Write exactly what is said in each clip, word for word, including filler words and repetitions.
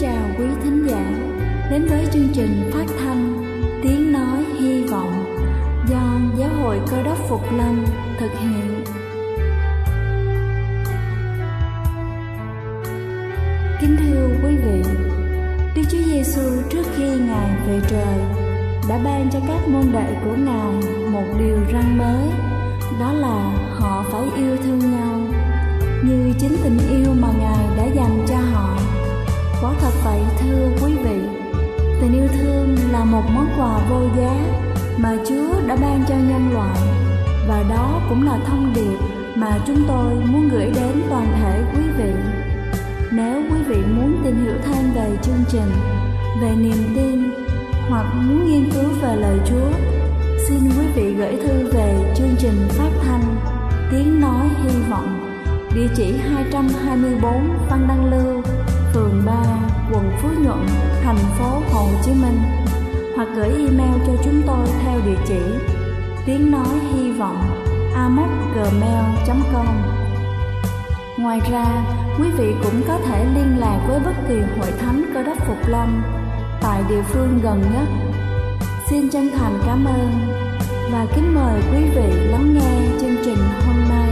chào quý thính giả đến với chương trình phát thanh Tiếng Nói Hy Vọng do Giáo hội Cơ Đốc Phục Lâm thực hiện. Kính thưa quý vị, Đức Chúa Giêsu trước khi Ngài về trời đã ban cho các môn đệ của Ngài một điều răn mới, đó là họ phải yêu thương nhau như chính tình yêu mà Ngài đã dành cho họ. Quả thật vậy thưa quý vị, tình yêu thương là một món quà vô giá mà Chúa đã ban cho nhân loại, và đó cũng là thông điệp mà chúng tôi muốn gửi đến toàn thể quý vị. Nếu quý vị muốn tìm hiểu thêm về chương trình, về niềm tin hoặc muốn nghiên cứu về lời Chúa, xin quý vị gửi thư về chương trình phát thanh Tiếng Nói Hy Vọng, địa chỉ hai trăm hai mươi tư Phan Đăng Lưu, phường ba, quận Phú Nhuận, thành phố Hồ Chí Minh, hoặc gửi email cho chúng tôi theo địa chỉ tiếng nói hy vọng a m o c gmail chấm com. Ngoài ra, quý vị cũng có thể liên lạc với bất kỳ hội thánh Cơ Đốc Phục Lâm tại địa phương gần nhất. Xin chân thành cảm ơn và kính mời quý vị lắng nghe chương trình hôm nay.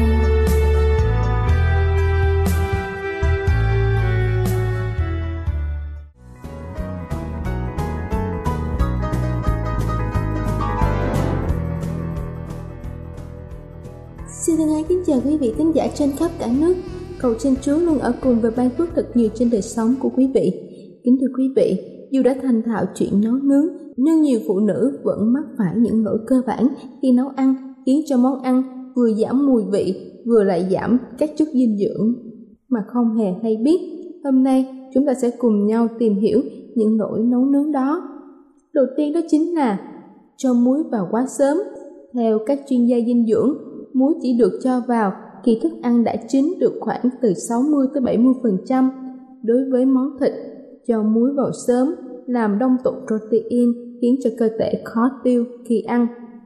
Xin thân ái kính chào quý vị thính giả trên khắp cả nước. Cầu xin Chúa luôn ở cùng và ban phước thật nhiều trên đời sống của quý vị. Kính thưa quý vị, dù đã thành thạo chuyện nấu nướng, nhưng nhiều phụ nữ vẫn mắc phải những lỗi cơ bản khi nấu ăn, khiến cho món ăn vừa giảm mùi vị, vừa lại giảm các chất dinh dưỡng mà không hề hay biết. Hôm nay chúng ta sẽ cùng nhau tìm hiểu những lỗi nấu nướng đó. Đầu tiên đó chính là cho muối vào quá sớm. Theo các chuyên gia dinh dưỡng, muối chỉ được cho vào khi thức ăn đã chín được khoảng từ sáu mươi tới bảy mươi phần trăm. Đối với món thịt, cho muối vào sớm làm đông tụ protein, khiến cho cơ thể khó tiêu khi ăn.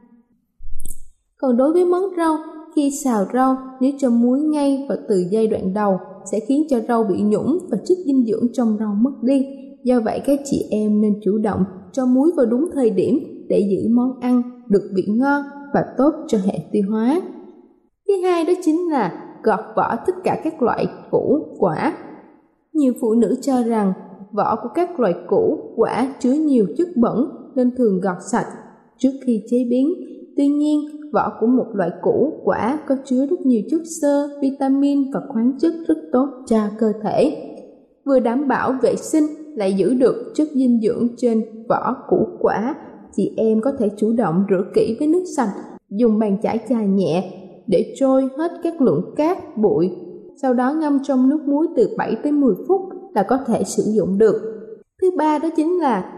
Còn đối với món rau, khi xào rau, nếu cho muối ngay vào từ giai đoạn đầu sẽ khiến cho rau bị nhũng và chất dinh dưỡng trong rau mất đi. Do vậy các chị em nên chủ động cho muối vào đúng thời điểm để giữ món ăn được vị ngon và tốt cho hệ tiêu hóa. Thứ hai đó chính là gọt vỏ tất cả các loại củ quả. Nhiều phụ nữ cho rằng vỏ của các loại củ quả chứa nhiều chất bẩn nên thường gọt sạch trước khi chế biến. Tuy nhiên, vỏ của một loại củ quả có chứa rất nhiều chất xơ, vitamin và khoáng chất rất tốt cho cơ thể. Vừa đảm bảo vệ sinh lại giữ được chất dinh dưỡng trên vỏ củ quả. Chị em có thể chủ động rửa kỹ với nước sạch, dùng bàn chải chà nhẹ để trôi hết các lượng cát, bụi. Sau đó ngâm trong nước muối từ bảy tới mười phút là có thể sử dụng được. Thứ ba đó chính là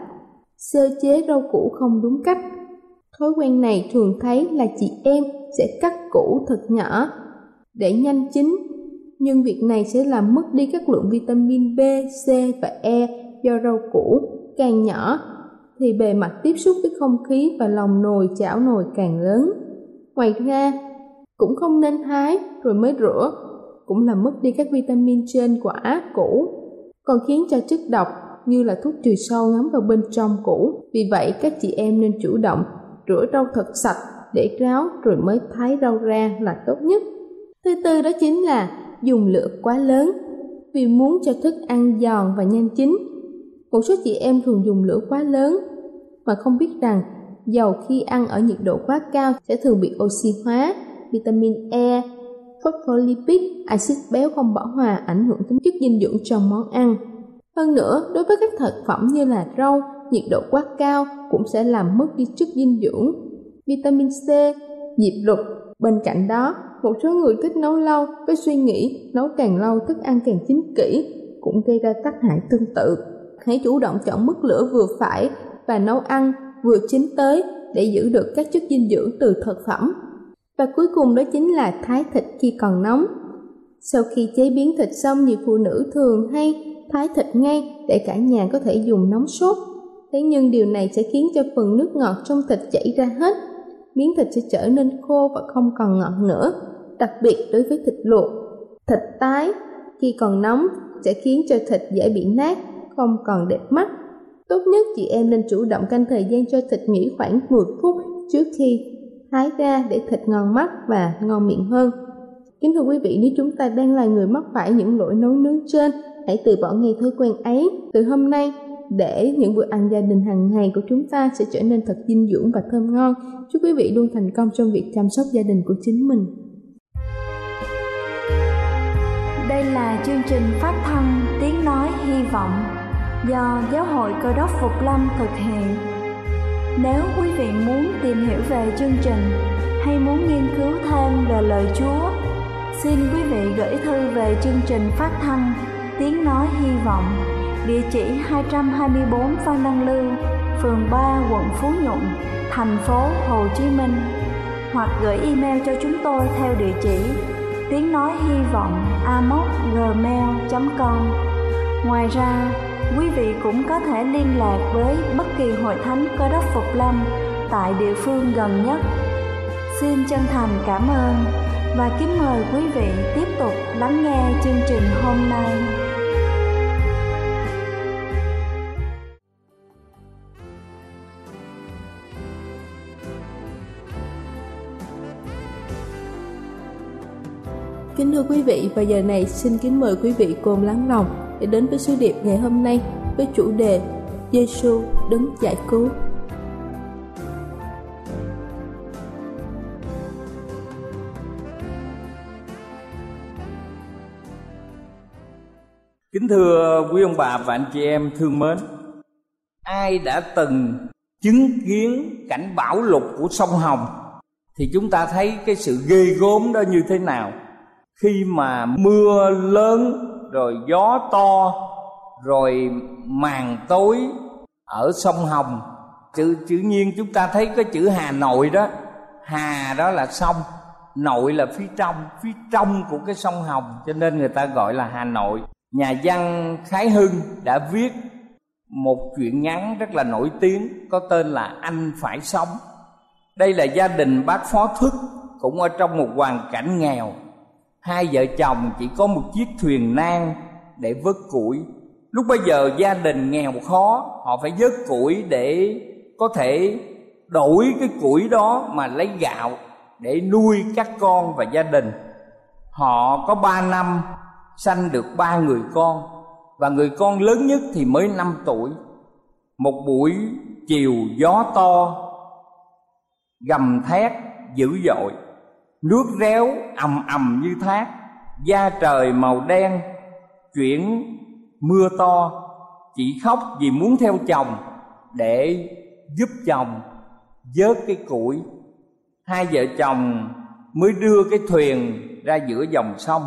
sơ chế rau củ không đúng cách. Thói quen này thường thấy là chị em sẽ cắt củ thật nhỏ để nhanh chín, nhưng việc này sẽ làm mất đi các lượng vitamin B, C và E do rau củ càng nhỏ thì bề mặt tiếp xúc với không khí và lòng nồi chảo nồi càng lớn. Ngoài ra, cũng không nên thái rồi mới rửa, cũng làm mất đi các vitamin trên quả củ, còn khiến cho chất độc như là thuốc trừ sâu ngấm vào bên trong củ. Vì vậy các chị em nên chủ động rửa rau thật sạch để ráo rồi mới thái rau ra là tốt nhất. Thứ tư đó chính là dùng lửa quá lớn. Vì muốn cho thức ăn giòn và nhanh chín, một số chị em thường dùng lửa quá lớn mà không biết rằng dầu khi ăn ở nhiệt độ quá cao sẽ thường bị oxy hóa, vitamin E, phospholipid, axit béo không bão hòa ảnh hưởng đến chất dinh dưỡng trong món ăn. Hơn nữa, đối với các thực phẩm như là rau, nhiệt độ quá cao cũng sẽ làm mất đi chất dinh dưỡng, vitamin C, diệp lục. Bên cạnh đó, một số người thích nấu lâu với suy nghĩ nấu càng lâu thức ăn càng chín kỹ cũng gây ra tác hại tương tự. Hãy chủ động chọn mức lửa vừa phải và nấu ăn vừa chín tới để giữ được các chất dinh dưỡng từ thực phẩm. Và cuối cùng đó chính là thái thịt khi còn nóng. Sau khi chế biến thịt xong, nhiều phụ nữ thường hay thái thịt ngay để cả nhà có thể dùng nóng sốt. Thế nhưng điều này sẽ khiến cho phần nước ngọt trong thịt chảy ra hết. Miếng thịt sẽ trở nên khô và không còn ngọt nữa. Đặc biệt đối với thịt luộc, thịt tái khi còn nóng sẽ khiến cho thịt dễ bị nát, không còn đẹp mắt. Tốt nhất chị em nên chủ động canh thời gian cho thịt nghỉ khoảng mười phút trước khi hái ra để thịt ngon mắt và ngon miệng hơn. Kính thưa quý vị, nếu chúng ta đang là người mắc phải những lỗi nấu nướng trên, hãy từ bỏ ngay thói quen ấy từ hôm nay để những bữa ăn gia đình hàng ngày của chúng ta sẽ trở nên thật dinh dưỡng và thơm ngon. Chúc quý vị luôn thành công trong việc chăm sóc gia đình của chính mình. Đây là chương trình phát thanh Tiếng Nói Hy Vọng do Giáo hội Cơ đốc Phục Lâm thực hiện. Nếu quý vị muốn tìm hiểu về chương trình hay muốn nghiên cứu thêm về lời Chúa, xin quý vị gửi thư về chương trình phát thanh Tiếng Nói Hy Vọng, địa chỉ hai trăm hai mươi tư Phan Đăng Lưu, phường ba, quận Phú Nhuận, thành phố Hồ Chí Minh, hoặc gửi email cho chúng tôi theo địa chỉ tiếng nói hy vọng a m o c gmail chấm com. Ngoài ra, quý vị cũng có thể liên lạc với bất kỳ hội thánh Cơ đốc Phục Lâm tại địa phương gần nhất. Xin chân thành cảm ơn và kính mời quý vị tiếp tục lắng nghe chương trình hôm nay. Kính thưa quý vị, và giờ này xin kính mời quý vị cùng lắng lòng để đến với sứ điệp ngày hôm nay với chủ đề Giê-xu đấng giải cứu. Kính thưa quý ông bà và anh chị em thương mến, ai đã từng chứng kiến cảnh bão lụt của sông Hồng thì chúng ta thấy cái sự ghê gớm đó như thế nào. Khi mà mưa lớn, rồi gió to, rồi màn tối ở sông Hồng, chữ, chữ nhiên chúng ta thấy cái chữ Hà Nội đó. Hà đó là sông, nội là phía trong, phía trong của cái sông Hồng, cho nên người ta gọi là Hà Nội. Nhà văn Khái Hưng đã viết một truyện ngắn rất là nổi tiếng có tên là Anh Phải Sống. Đây là gia đình bác Phó Thức, cũng ở trong một hoàn cảnh nghèo. Hai vợ chồng chỉ có một chiếc thuyền nan để vớt củi. Lúc bây giờ gia đình nghèo khó, họ phải vớt củi để có thể đổi cái củi đó mà lấy gạo để nuôi các con và gia đình. Họ có ba năm sanh được ba người con, và người con lớn nhất thì mới năm tuổi. Một buổi chiều gió to, gầm thét dữ dội, nước réo ầm ầm như thác, da trời màu đen chuyển mưa to. Chị khóc vì muốn theo chồng để giúp chồng vớt cái củi. Hai vợ chồng mới đưa cái thuyền ra giữa dòng sông.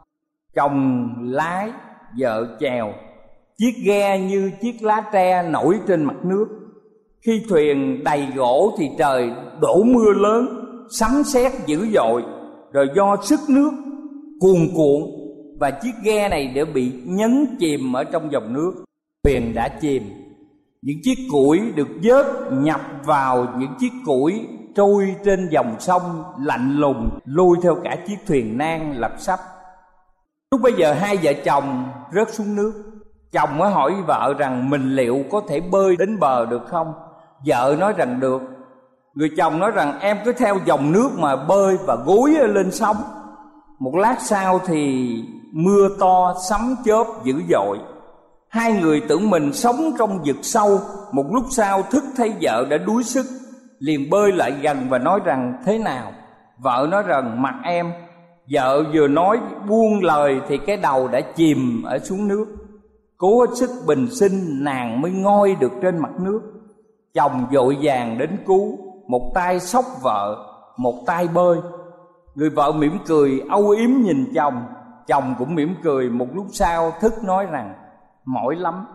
Chồng lái, vợ chèo, chiếc ghe như chiếc lá tre nổi trên mặt nước. Khi thuyền đầy gỗ thì trời đổ mưa lớn, sấm sét dữ dội, rồi do sức nước cuồn cuộn và chiếc ghe này đã bị nhấn chìm ở trong dòng nước. Thuyền đã chìm, những chiếc củi được vớt nhập vào những chiếc củi trôi trên dòng sông lạnh lùng, lôi theo cả chiếc thuyền nan lật sắp. Lúc bây giờ hai vợ chồng rớt xuống nước. Chồng mới hỏi vợ rằng mình liệu có thể bơi đến bờ được không? Vợ nói rằng được. Người chồng nói rằng em cứ theo dòng nước mà bơi và gối lên sóng. Một lát sau thì mưa to sấm chớp dữ dội. Hai người tưởng mình sống trong vực sâu. Một lúc sau thức thấy vợ đã đuối sức, liền bơi lại gần và nói rằng thế nào? Vợ nói rằng mặt em. Vợ vừa nói buông lời thì cái đầu đã chìm ở xuống nước. Cố hết sức bình sinh nàng mới ngoi được trên mặt nước. Chồng vội vàng đến cứu, một tay xốc vợ, một tay bơi. Người vợ mỉm cười âu yếm nhìn chồng, chồng cũng mỉm cười. Một lúc sau Thức nói rằng mỏi lắm,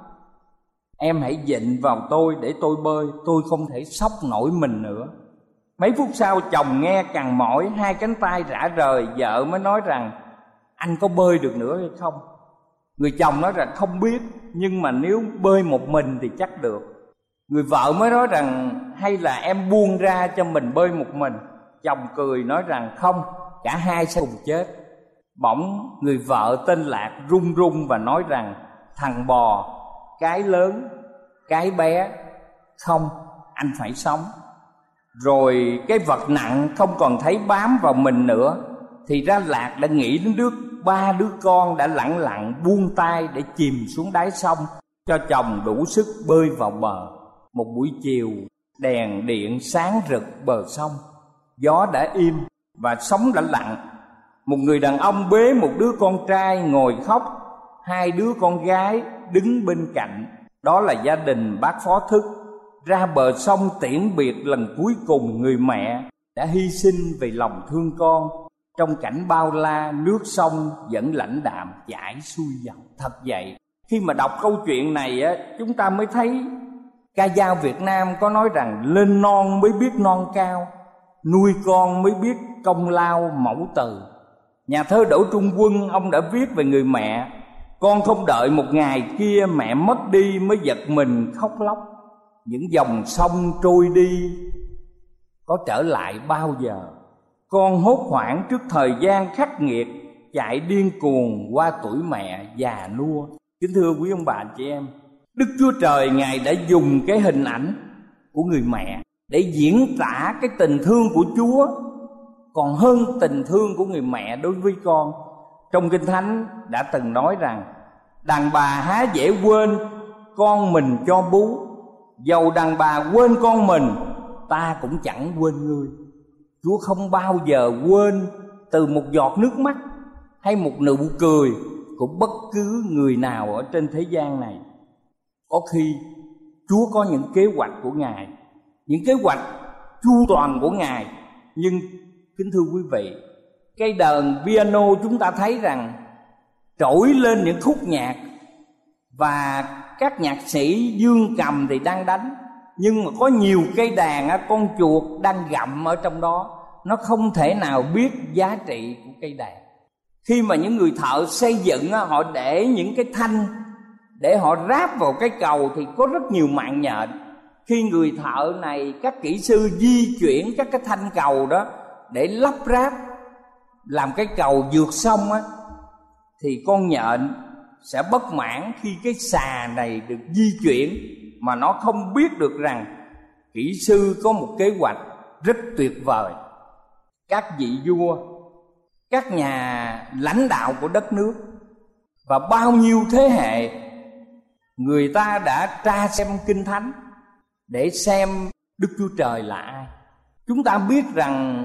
em hãy vịn vào tôi để tôi bơi, tôi không thể xốc nổi mình nữa. Mấy phút sau chồng nghe càng mỏi, hai cánh tay rã rời. Vợ mới nói rằng anh có bơi được nữa hay không? Người chồng nói rằng không biết, nhưng mà nếu bơi một mình thì chắc được. Người vợ mới nói rằng hay là em buông ra cho mình bơi một mình. Chồng cười nói rằng không, cả hai sẽ cùng chết. Bỗng người vợ tên Lạc run run và nói rằng thằng bò, cái lớn, cái bé. Không, anh phải sống. Rồi cái vật nặng không còn thấy bám vào mình nữa, thì ra Lạc đã nghĩ đến đứa ba đứa con đã lặng lặng buông tay để chìm xuống đáy sông, cho chồng đủ sức bơi vào bờ. Một buổi chiều, đèn điện sáng rực bờ sông, gió đã im và sóng đã lặng. Một người đàn ông bế một đứa con trai ngồi khóc, hai đứa con gái đứng bên cạnh. Đó là gia đình bác Phó Thức ra bờ sông tiễn biệt lần cuối cùng người mẹ đã hy sinh vì lòng thương con. Trong cảnh bao la, nước sông vẫn lãnh đạm chảy xuôi dòng. Thật vậy, khi mà đọc câu chuyện này á, chúng ta mới thấy ca dao Việt Nam có nói rằng lên non mới biết non cao, nuôi con mới biết công lao mẫu tử. Nhà thơ Đỗ Trung Quân, ông đã viết về người mẹ: con không đợi một ngày kia mẹ mất đi mới giật mình khóc lóc. Những dòng sông trôi đi có trở lại bao giờ? Con hốt hoảng trước thời gian khắc nghiệt, chạy điên cuồng qua tuổi mẹ già nua. Kính thưa quý ông bà anh chị em, Đức Chúa Trời Ngài đã dùng cái hình ảnh của người mẹ để diễn tả cái tình thương của Chúa còn hơn tình thương của người mẹ đối với con. Trong Kinh Thánh đã từng nói rằng: đàn bà há dễ quên con mình cho bú, dầu đàn bà quên con mình, ta cũng chẳng quên ngươi. Chúa không bao giờ quên từ một giọt nước mắt hay một nụ cười của bất cứ người nào ở trên thế gian này. Có khi Chúa có những kế hoạch của Ngài, những kế hoạch chu toàn của Ngài. Nhưng kính thưa quý vị, cây đờn piano chúng ta thấy rằng trỗi lên những khúc nhạc, và các nhạc sĩ dương cầm thì đang đánh, nhưng mà có nhiều cây đàn con chuột đang gặm ở trong đó. Nó không thể nào biết giá trị của cây đàn. Khi mà những người thợ xây dựng họ để những cái thanh để họ ráp vào cái cầu thì có rất nhiều mạng nhện. Khi người thợ này, các kỹ sư di chuyển các cái thanh cầu đó để lắp ráp làm cái cầu vượt sông á, thì con nhện sẽ bất mãn khi cái xà này được di chuyển mà nó không biết được rằng kỹ sư có một kế hoạch rất tuyệt vời. Các vị vua, các nhà lãnh đạo của đất nước và bao nhiêu thế hệ, người ta đã tra xem Kinh Thánh để xem Đức Chúa Trời là ai. Chúng ta biết rằng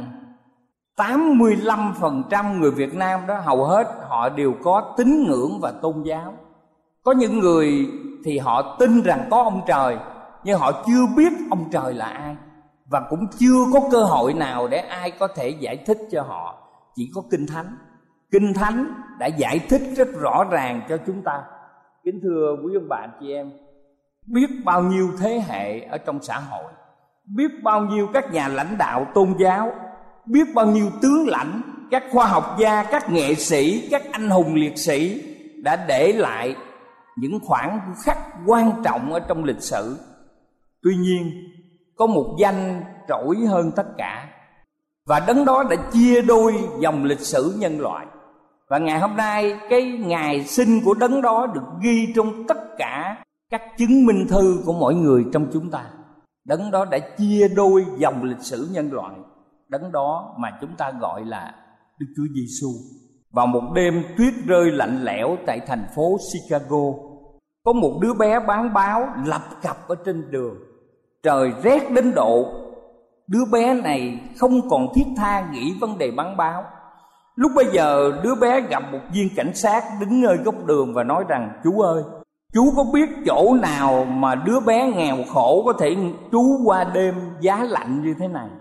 tám mươi lăm phần trăm người Việt Nam đó, hầu hết họ đều có tín ngưỡng và tôn giáo. Có những người thì họ tin rằng có ông trời, nhưng họ chưa biết ông trời là ai, và cũng chưa có cơ hội nào để ai có thể giải thích cho họ. Chỉ có Kinh Thánh. Kinh Thánh đã giải thích rất rõ ràng cho chúng ta. Kính thưa quý ông bà anh chị em, biết bao nhiêu thế hệ ở trong xã hội, biết bao nhiêu các nhà lãnh đạo tôn giáo, biết bao nhiêu tướng lãnh, các khoa học gia, các nghệ sĩ, các anh hùng liệt sĩ đã để lại những khoảnh khắc quan trọng ở trong lịch sử. Tuy nhiên, có một danh trỗi hơn tất cả, và đấng đó đã chia đôi dòng lịch sử nhân loại. Và ngày hôm nay, cái ngày sinh của đấng đó được ghi trong tất cả các chứng minh thư của mỗi người trong chúng ta. Đấng đó đã chia đôi dòng lịch sử nhân loại. Đấng đó mà chúng ta gọi là Đức Chúa Giêsu. Vào một đêm tuyết rơi lạnh lẽo tại thành phố Chicago, có một đứa bé bán báo lập cập ở trên đường. Trời rét đến độ đứa bé này không còn thiết tha nghĩ vấn đề bán báo. Lúc bây giờ đứa bé gặp một viên cảnh sát đứng nơi góc đường và nói rằng: chú ơi, chú có biết chỗ nào mà đứa bé nghèo khổ có thể trú qua đêm giá lạnh như thế này?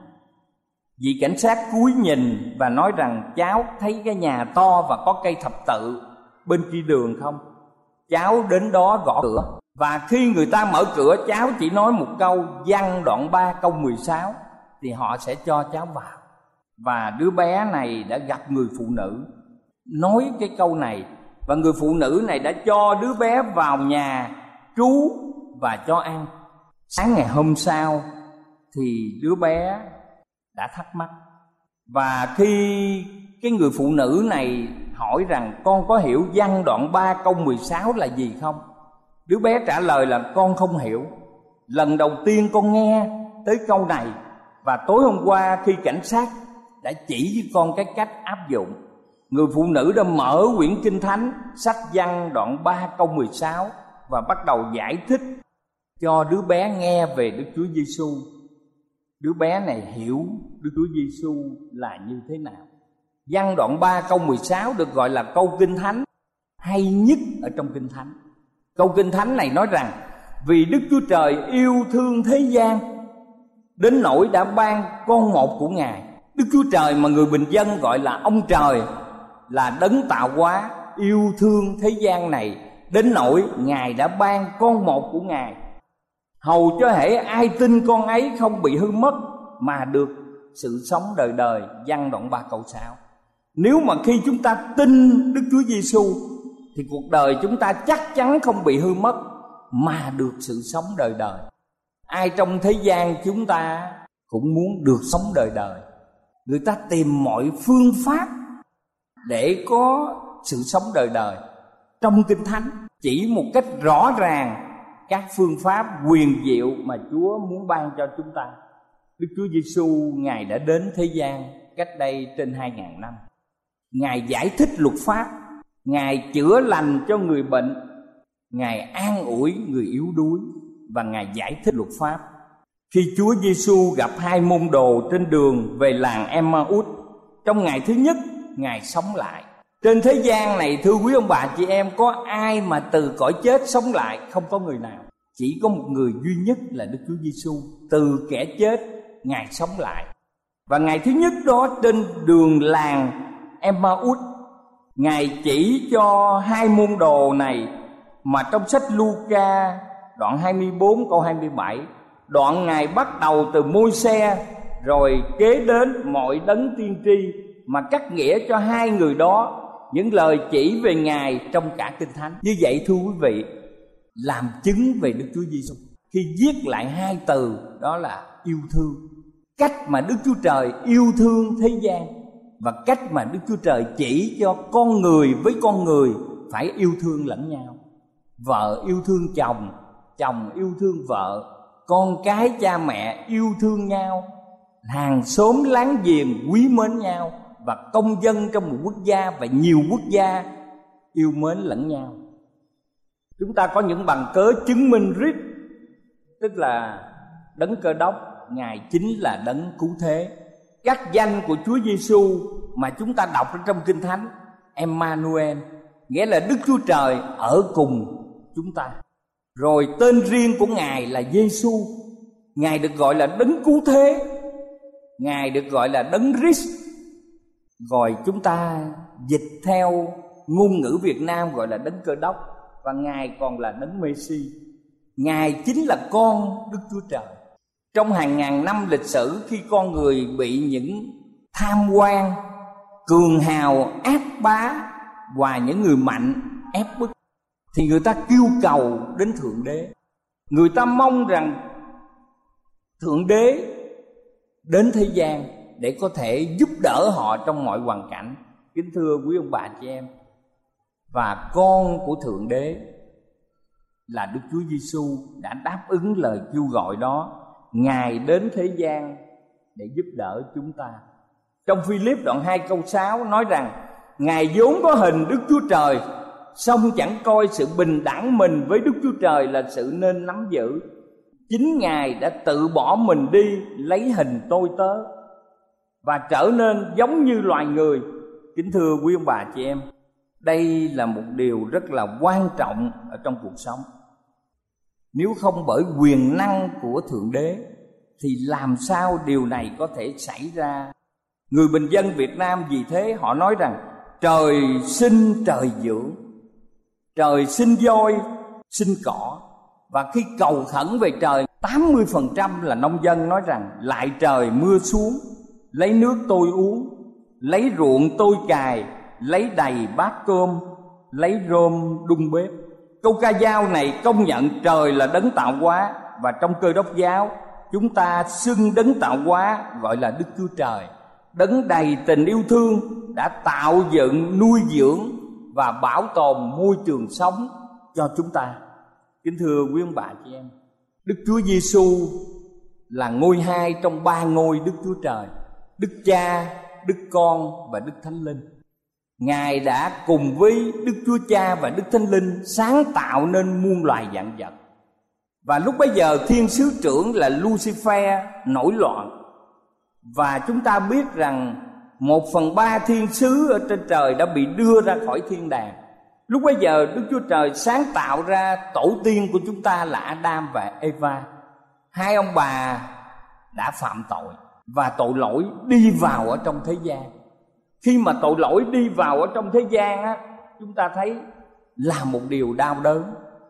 Vị cảnh sát cúi nhìn và nói rằng: cháu thấy cái nhà to và có cây thập tự bên kia đường không? Cháu đến đó gõ cửa, và khi người ta mở cửa, cháu chỉ nói một câu Giăng đoạn ba câu mười sáu thì họ sẽ cho cháu vào. Và đứa bé này đã gặp người phụ nữ nói cái câu này, và người phụ nữ này đã cho đứa bé vào nhà trú và cho ăn. Sáng ngày hôm sau thì đứa bé đã thắc mắc, và khi cái người phụ nữ này hỏi rằng: con có hiểu Giăng đoạn ba câu mười sáu là gì không? Đứa bé trả lời là con không hiểu. Lần đầu tiên con nghe tới câu này, và tối hôm qua khi cảnh sát đã chỉ với con cái cách áp dụng, người phụ nữ đã mở quyển Kinh Thánh, sách Văn đoạn ba câu mười sáu và bắt đầu giải thích cho đứa bé nghe về Đức Chúa Giêsu. Đứa bé này hiểu Đức Chúa Giêsu là như thế nào. Văn đoạn ba câu mười sáu được gọi là câu Kinh Thánh hay nhất ở trong Kinh Thánh. Câu Kinh Thánh này nói rằng: vì Đức Chúa Trời yêu thương thế gian đến nỗi đã ban con một của Ngài. Đức Chúa Trời mà người bình dân gọi là ông Trời, là đấng tạo hóa, yêu thương thế gian này đến nỗi Ngài đã ban con một của Ngài, hầu cho hễ ai tin con ấy không bị hư mất mà được sự sống đời đời. Văn đoạn ba câu sáu. Nếu mà khi chúng ta tin Đức Chúa Giêsu thì cuộc đời chúng ta chắc chắn không bị hư mất mà được sự sống đời đời. Ai trong thế gian chúng ta cũng muốn được sống đời đời. Người ta tìm mọi phương pháp để có sự sống đời đời. Trong Kinh Thánh chỉ một cách rõ ràng các phương pháp huyền diệu mà Chúa muốn ban cho chúng ta. Đức Chúa Giêsu Ngài đã đến thế gian cách đây trên hai ngàn năm. Ngài giải thích luật pháp, Ngài chữa lành cho người bệnh, Ngài an ủi người yếu đuối, và Ngài giải thích luật pháp. Khi Chúa Giêsu gặp hai môn đồ trên đường về làng Emmaus, trong ngày thứ nhất Ngài sống lại. Trên thế gian này, thưa quý ông bà chị em, có ai mà từ cõi chết sống lại? Không có người nào. Chỉ có một người duy nhất là Đức Chúa Giêsu, từ kẻ chết Ngài sống lại. Và ngày thứ nhất đó, trên đường làng Emmaus, Ngài chỉ cho hai môn đồ này mà trong sách Luca đoạn hai mươi bốn câu hai mươi bảy, đoạn Ngài bắt đầu từ Môi-se rồi kế đến mọi đấng tiên tri, mà cắt nghĩa cho hai người đó những lời chỉ về Ngài trong cả Kinh Thánh. Như vậy thưa quý vị, làm chứng về Đức Chúa Giêsu khi viết lại hai từ đó là yêu thương. Cách mà Đức Chúa Trời yêu thương thế gian, và cách mà Đức Chúa Trời chỉ cho con người với con người phải yêu thương lẫn nhau. Vợ yêu thương chồng, chồng yêu thương vợ, con cái cha mẹ yêu thương nhau, hàng xóm láng giềng quý mến nhau, và công dân trong một quốc gia và nhiều quốc gia yêu mến lẫn nhau. Chúng ta có những bằng cớ chứng minh rít, tức là đấng Cơ Đốc, Ngài chính là đấng cứu thế. Các danh của Chúa Giêsu mà chúng ta đọc trong Kinh Thánh, Emmanuel, nghĩa là Đức Chúa Trời ở cùng chúng ta. Rồi tên riêng của Ngài là Giêsu, Ngài được gọi là đấng cứu thế, Ngài được gọi là đấng Christ. Rồi chúng ta dịch theo ngôn ngữ Việt Nam gọi là đấng Cơ Đốc, và Ngài còn là đấng Mê-si. Ngài chính là con Đức Chúa Trời. Trong hàng ngàn năm lịch sử, khi con người bị những tham quan, cường hào, ác bá và những người mạnh ép bức, thì người ta kêu cầu đến Thượng Đế. Người ta mong rằng Thượng Đế đến thế gian để có thể giúp đỡ họ trong mọi hoàn cảnh. Kính thưa quý ông bà chị em, và con của Thượng Đế là Đức Chúa Giêsu đã đáp ứng lời kêu gọi đó. Ngài đến thế gian để giúp đỡ chúng ta. Trong Phi-líp đoạn hai câu sáu nói rằng: Ngài vốn có hình Đức Chúa Trời, song chẳng coi sự bình đẳng mình với Đức Chúa Trời là sự nên nắm giữ. Chính Ngài đã tự bỏ mình đi, lấy hình tôi tớ và trở nên giống như loài người. Kính thưa quý ông bà chị em, đây là một điều rất là quan trọng ở trong cuộc sống. Nếu không bởi quyền năng của Thượng Đế thì làm sao điều này có thể xảy ra? Người bình dân Việt Nam vì thế họ nói rằng trời sinh trời dưỡng, trời sinh voi sinh cỏ. Và khi cầu khẩn về trời, tám mươi phần trăm là nông dân nói rằng: lại trời mưa xuống, lấy nước tôi uống, lấy ruộng tôi cày, lấy đầy bát cơm, lấy rơm đun bếp. Câu ca dao này công nhận trời là đấng tạo hóa, và trong Cơ Đốc giáo chúng ta xưng đấng tạo hóa gọi là Đức Chúa Trời, đấng đầy tình yêu thương đã tạo dựng, nuôi dưỡng và bảo tồn môi trường sống cho chúng ta. Kính thưa quý ông bà chị em, Đức Chúa Giêsu là ngôi hai trong ba ngôi Đức Chúa Trời: Đức Cha, Đức Con và Đức Thánh Linh. Ngài đã cùng với Đức Chúa Cha và Đức Thánh Linh sáng tạo nên muôn loài vạn vật. Và lúc bấy giờ thiên sứ trưởng là Lucifer nổi loạn, và chúng ta biết rằng một phần ba thiên sứ ở trên trời đã bị đưa ra khỏi thiên đàng. Lúc bấy giờ Đức Chúa Trời sáng tạo ra tổ tiên của chúng ta là Adam và Eva. Hai ông bà đã phạm tội và tội lỗi đi vào ở trong thế gian. Khi mà tội lỗi đi vào ở trong thế gian á, chúng ta thấy là một điều đau đớn.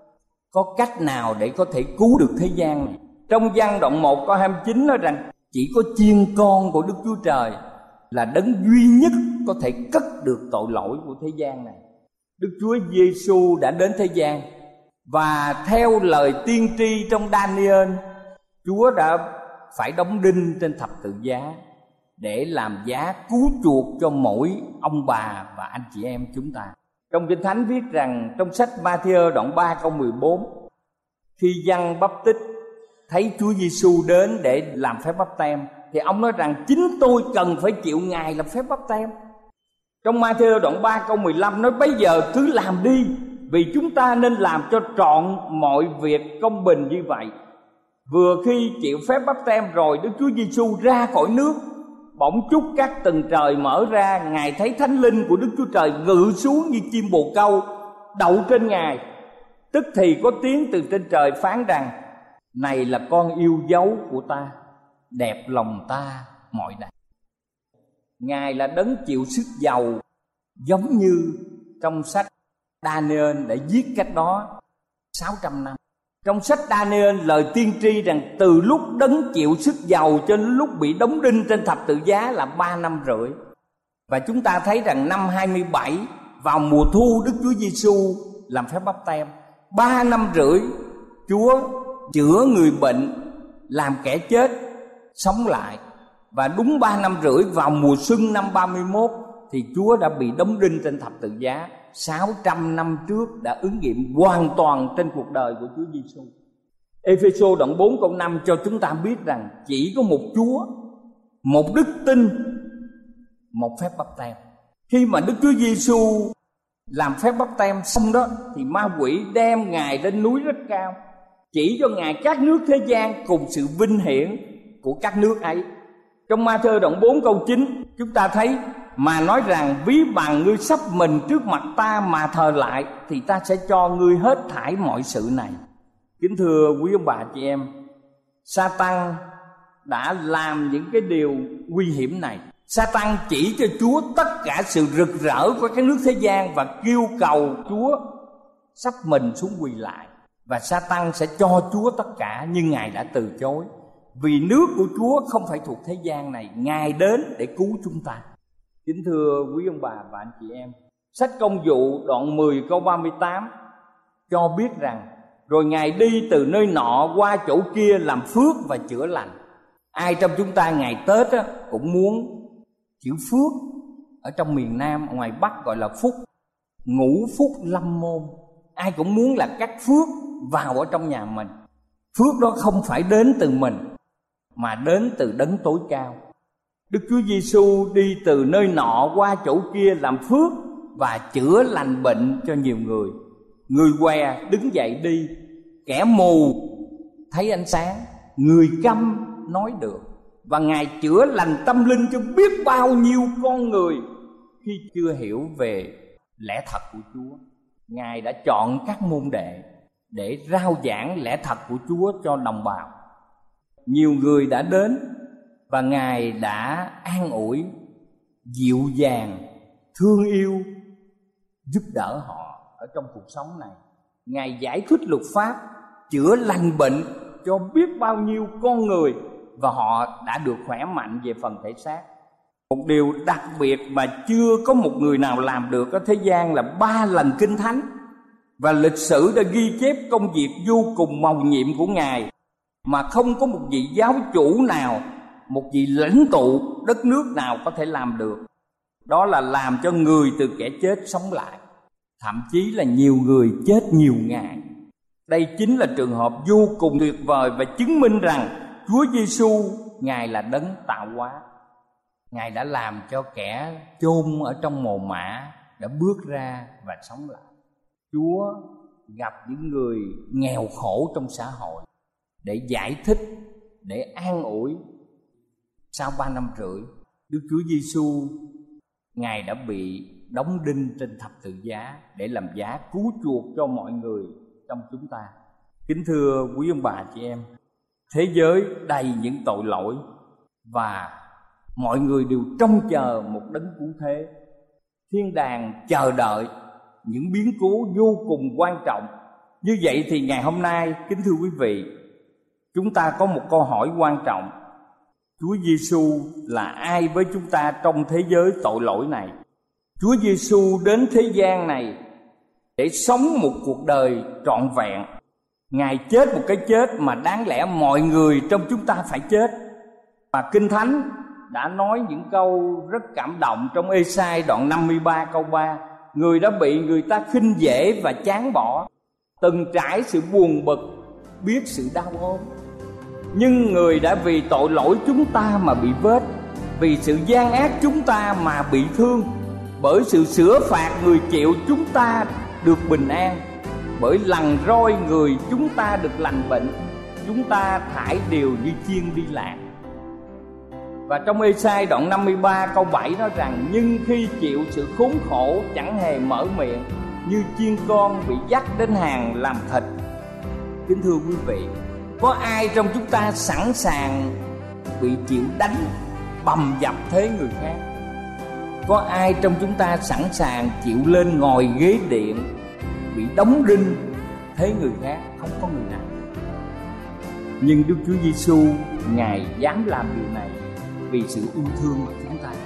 Có cách nào để có thể cứu được thế gian này? Trong Giăng đoạn một câu hai mươi chín nói rằng chỉ có chiên con của Đức Chúa Trời là đấng duy nhất có thể cất được tội lỗi của thế gian này. Đức Chúa Giêsu đã đến thế gian, và theo lời tiên tri trong Daniel, Chúa đã phải đóng đinh trên thập tự giá để làm giá cứu chuộc cho mỗi ông bà và anh chị em chúng ta. Trong Kinh Thánh viết rằng trong sách Ma-thi-ơ đoạn ba câu mười bốn, khi Giăng Báp Tích thấy Chúa Giêsu đến để làm phép báp têm, thì ông nói rằng chính tôi cần phải chịu Ngài làm phép báp têm. Trong Ma-thi-ơ đoạn ba câu mười lăm nói: bây giờ cứ làm đi, vì chúng ta nên làm cho trọn mọi việc công bình như vậy. Vừa khi chịu phép báp têm rồi, Đức Chúa Giêsu ra khỏi nước, bỗng chúc các tầng trời mở ra. Ngài thấy Thánh Linh của Đức Chúa Trời ngự xuống như chim bồ câu đậu trên Ngài. Tức thì có tiếng từ trên trời phán rằng: này là con yêu dấu của ta, đẹp lòng ta mọi đêm. Ngài là đấng chịu sức dầu, giống như trong sách Daniel đã viết cách đó sáu trăm năm. Trong sách Daniel lời tiên tri rằng từ lúc đấng chịu sức dầu cho đến lúc bị đóng đinh trên thập tự giá là ba năm rưỡi. Và chúng ta thấy rằng năm hai mươi bảy, vào mùa thu, Đức Chúa Giêsu làm phép báp têm. Ba năm rưỡi Chúa chữa người bệnh, làm kẻ chết sống lại. Và đúng ba năm rưỡi, vào mùa xuân năm ba mươi mốt, thì Chúa đã bị đóng đinh trên thập tự giá. Sáu trăm năm trước đã ứng nghiệm hoàn toàn trên cuộc đời của Chúa Giêsu. Ê-phê-sô đoạn bốn câu năm cho chúng ta biết rằng chỉ có một Chúa, một đức tin, một phép báp têm. Khi mà Đức Chúa Giêsu làm phép báp têm xong đó, thì ma quỷ đem Ngài lên núi rất cao, chỉ cho Ngài các nước thế gian cùng sự vinh hiển của các nước ấy. Trong Ma-thơ đoạn bốn câu chín, chúng ta thấy mà nói rằng: ví bằng ngươi sắp mình trước mặt ta mà thờ lại, thì ta sẽ cho ngươi hết thảy mọi sự này. Kính thưa quý ông bà chị em, Sa-tan đã làm những cái điều nguy hiểm này. Sa-tan chỉ cho Chúa tất cả sự rực rỡ của các nước thế gian và kêu cầu Chúa sắp mình xuống quỳ lại. Và Sa-tan sẽ cho Chúa tất cả, nhưng Ngài đã từ chối. Vì nước của Chúa không phải thuộc thế gian này, Ngài đến để cứu chúng ta. Kính thưa quý ông bà và anh chị em, sách Công vụ đoạn mười câu ba mươi tám cho biết rằng: rồi Ngài đi từ nơi nọ qua chỗ kia làm phước và chữa lành. Ai trong chúng ta ngày Tết á, cũng muốn chữ phước. Ở trong miền Nam, ngoài Bắc gọi là phúc, ngũ phúc lâm môn. Ai cũng muốn là cắt phước vào ở trong nhà mình. Phước đó không phải đến từ mình, mà đến từ đấng tối cao. Đức Chúa Giêsu đi từ nơi nọ qua chỗ kia làm phước và chữa lành bệnh cho nhiều người. Người què đứng dậy đi, kẻ mù thấy ánh sáng, người câm nói được. Và Ngài chữa lành tâm linh cho biết bao nhiêu con người khi chưa hiểu về lẽ thật của Chúa. Ngài đã chọn các môn đệ để rao giảng lẽ thật của Chúa cho đồng bào. Nhiều người đã đến và Ngài đã an ủi, dịu dàng, thương yêu, giúp đỡ họ ở trong cuộc sống này. Ngài giải thích luật pháp, chữa lành bệnh cho biết bao nhiêu con người, và họ đã được khỏe mạnh về phần thể xác. Một điều đặc biệt mà chưa có một người nào làm được ở thế gian là ba lần Kinh Thánh, và lịch sử đã ghi chép công việc vô cùng mầu nhiệm của Ngài mà không có một vị giáo chủ nào, một vị lãnh tụ đất nước nào có thể làm được. Đó là làm cho người từ kẻ chết sống lại, thậm chí là nhiều người chết nhiều ngày. Đây chính là trường hợp vô cùng tuyệt vời và chứng minh rằng Chúa Giêsu Ngài là đấng tạo hóa. Ngài đã làm cho kẻ chôn ở trong mồ mả đã bước ra và sống lại. Chúa gặp những người nghèo khổ trong xã hội để giải thích, để an ủi. Sau ba năm rưỡi, Đức Chúa Giêsu Ngài đã bị đóng đinh trên thập tự giá để làm giá cứu chuộc cho mọi người trong chúng ta. Kính thưa quý ông bà chị em, thế giới đầy những tội lỗi và mọi người đều trông chờ một đấng cứu thế. Thiên đàng chờ đợi những biến cố vô cùng quan trọng. Như vậy thì ngày hôm nay, kính thưa quý vị, chúng ta có một câu hỏi quan trọng. Chúa Giêsu là ai với chúng ta trong thế giới tội lỗi này? Chúa Giêsu đến thế gian này để sống một cuộc đời trọn vẹn. Ngài chết một cái chết mà đáng lẽ mọi người trong chúng ta phải chết. Và Kinh Thánh đã nói những câu rất cảm động trong Ê-sai đoạn năm mươi ba câu ba. Người đã bị người ta khinh dễ và chán bỏ, từng trải sự buồn bực, biết sự đau ốm. Nhưng người đã vì tội lỗi chúng ta mà bị vết, vì sự gian ác chúng ta mà bị thương. Bởi sự sửa phạt người chịu chúng ta được bình an, bởi lần roi người chúng ta được lành bệnh. Chúng ta thải đều như chiên đi lạc. Và trong Ê-sai đoạn năm mươi ba câu bảy nói rằng: nhưng khi chịu sự khốn khổ chẳng hề mở miệng, như chiên con bị dắt đến hàng làm thịt. Kính thưa quý vị, có ai trong chúng ta sẵn sàng bị chịu đánh, bầm dập thế người khác? Có ai trong chúng ta sẵn sàng chịu lên ngồi ghế điện, bị đóng đinh thế người khác? Không có người nào. Nhưng Đức Chúa Giêsu Ngài dám làm điều này vì sự yêu thương của chúng ta.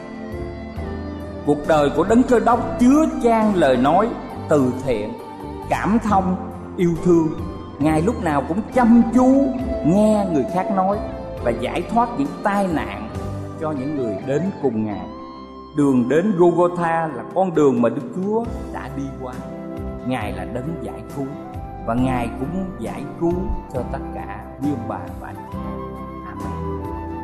Cuộc đời của Đấng Cơ Đốc chứa chan lời nói từ thiện, cảm thông, yêu thương. Ngài lúc nào cũng chăm chú nghe người khác nói và giải thoát những tai nạn cho những người đến cùng Ngài. Đường đến Golgotha là con đường mà Đức Chúa đã đi qua. Ngài là đấng giải cứu và Ngài cũng giải cứu cho tất cả quý ông bà và anh chị em. Amen.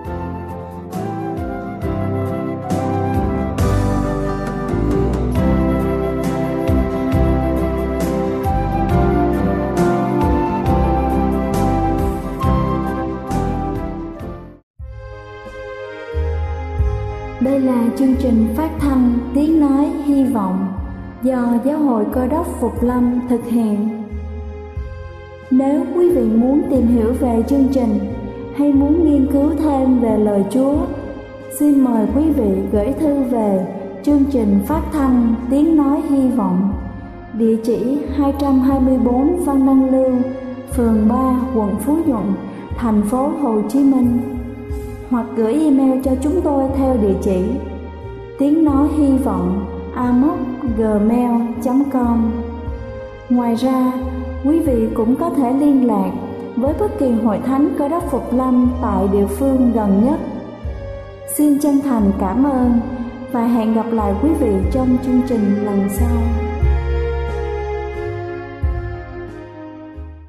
Đây là chương trình phát thanh Tiếng Nói Hy Vọng do Giáo hội Cơ Đốc Phục Lâm thực hiện. Nếu quý vị muốn tìm hiểu về chương trình hay muốn nghiên cứu thêm về lời Chúa, xin mời quý vị gửi thư về chương trình phát thanh Tiếng Nói Hy Vọng, địa chỉ hai trăm hai mươi bốn Văn Đăng Lưu, phường ba, quận Phú Nhuận, thành phố Hồ Chí Minh, hoặc gửi email cho chúng tôi theo địa chỉ tiếng nói hy vọng a m o c gmail chấm com. Ngoài ra, quý vị cũng có thể liên lạc với bất kỳ hội thánh Cơ Đốc Phục Lâm tại địa phương gần nhất. Xin chân thành cảm ơn và hẹn gặp lại quý vị trong chương trình lần sau.